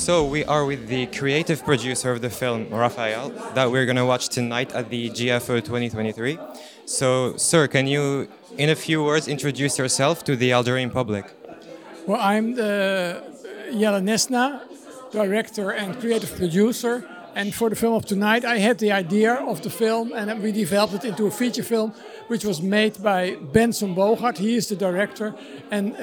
So we are with the creative producer of the film, Raphael, that we're going to watch tonight at the GFO 2023. So, sir, can you, in a few words, introduce yourself to the Algerian public? Well, I'm the Jelle Nesna, director and creative producer. And for the film of tonight, I had the idea of the film and we developed it into a feature film, which was made by Benson Bogart. He is the director. And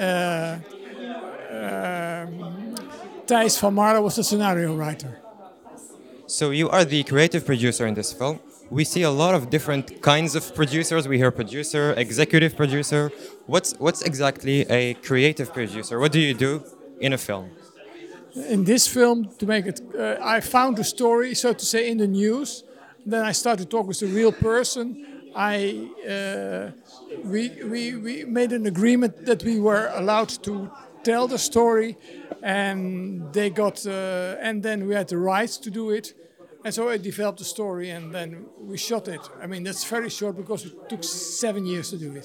Thijs van Marle was the scenario writer. So you are the creative producer in this film. We see a lot of different kinds of producers. We hear producer, executive producer. What's exactly a creative producer? What do you do in a film? In this film, to make it, I found the story, so to say, in the news. Then I started to talk with the real person. We made an agreement that we were allowed to tell the story, and they got, and then we had the rights to do it. And so I developed the story, and then we shot it. I mean, that's very short because it took 7 years to do it.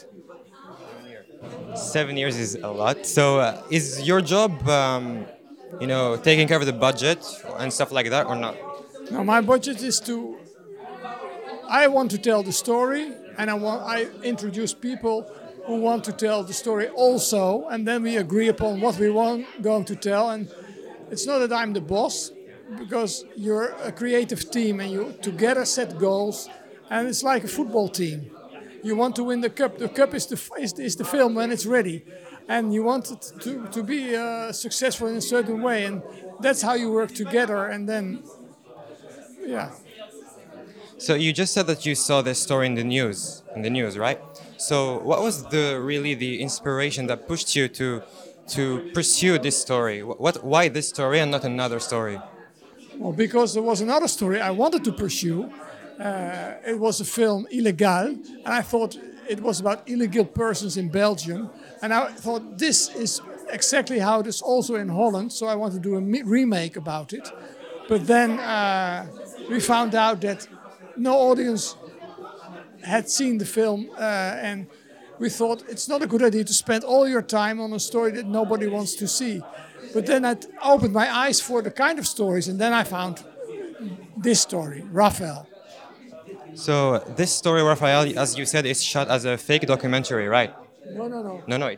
7 years is a lot. So is your job, taking care of the budget and stuff like that, or not? Now, my budget is to. I want to tell the story, and I introduce people who want to tell the story also, and then we agree upon what we going to tell. And it's not that I'm the boss, because you're a creative team and you together set goals, and it's like a football team. You want to win the cup. The cup is the film when it's ready, and you want it to be successful in a certain way, and that's how you work together. And then, yeah. So you just said that you saw this story in the news, right? So what was the inspiration that pushed you to pursue this story? Why this story and not another story? Well, because there was another story I wanted to pursue. It was a film, Illegaal, and I thought it was about illegal persons in Belgium. And I thought this is exactly how it is also in Holland, so I wanted to do a remake about it. But then we found out that no audience had seen the film, and we thought it's not a good idea to spend all your time on a story that nobody wants to see. But then I opened my eyes for the kind of stories, and then I found this story, Raphael. So this story, Raphael, as you said, is shot as a fake documentary, right? No. No.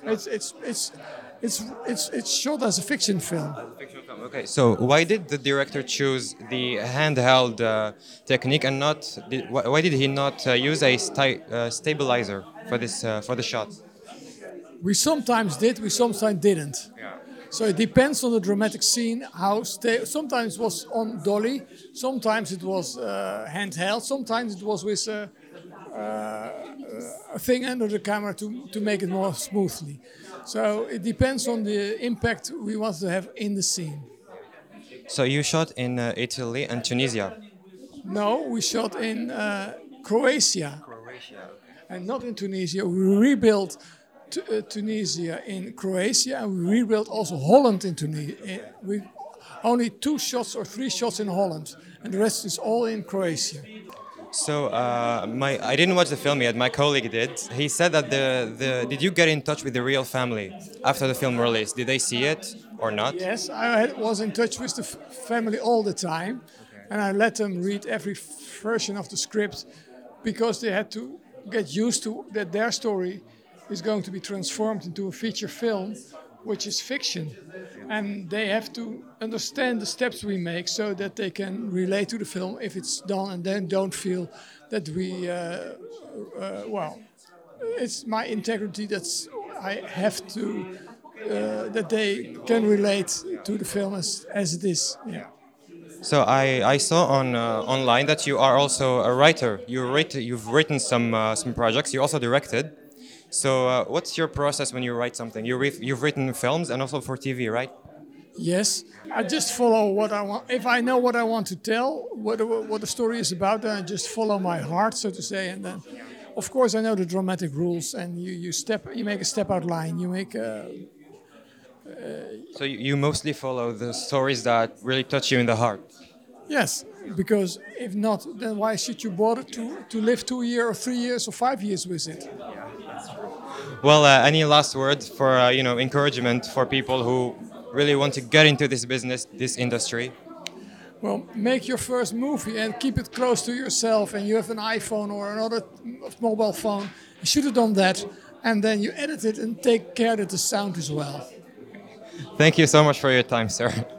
It's shot as a fiction film. Okay, so why did the director choose the handheld technique and why did he not use a stabilizer for the shot? We sometimes did, we sometimes didn't. Yeah. So it depends on the dramatic scene. Sometimes it was on dolly, sometimes it was handheld, sometimes it was with a thing under the camera to make it more smoothly. So it depends on the impact we want to have in the scene. So you shot in Italy and Tunisia? No, we shot in Croatia. And not in Tunisia. We rebuilt Tunisia in Croatia, and we rebuilt also Holland in Tunisia. We only 2 shots or 3 shots in Holland, and the rest is all in Croatia. So I didn't watch the film yet. My colleague did. He said that did you get in touch with the real family after the film released? Did they see it or not? Yes, I was in touch with the family all the time, and I let them read every version of the script because they had to get used to that their story is going to be transformed into a feature film, which is fiction. And they have to understand the steps we make so that they can relate to the film if it's done, and then don't feel that it's my integrity I have to, that they can relate to the film as it is. Yeah. So I saw online that you are also a writer. You've written some projects. You also directed. So what's your process when you write something? You've written films and also for TV, right? Yes, I just follow what I want. If I know what I want to tell, what the story is about, then I just follow my heart, so to say. And then, of course, I know the dramatic rules, and you make a step out line. You make. So you mostly follow the stories that really touch you in the heart. Yes, because if not, then why should you bother to live 2 years or 3 years or 5 years with it? Well, any last words for encouragement for people who really want to get into this business, this industry? Well, make your first movie and keep it close to yourself. And you have an iPhone or another mobile phone, you should have done that. And then you edit it and take care that the sound is well. Thank you so much for your time, sir.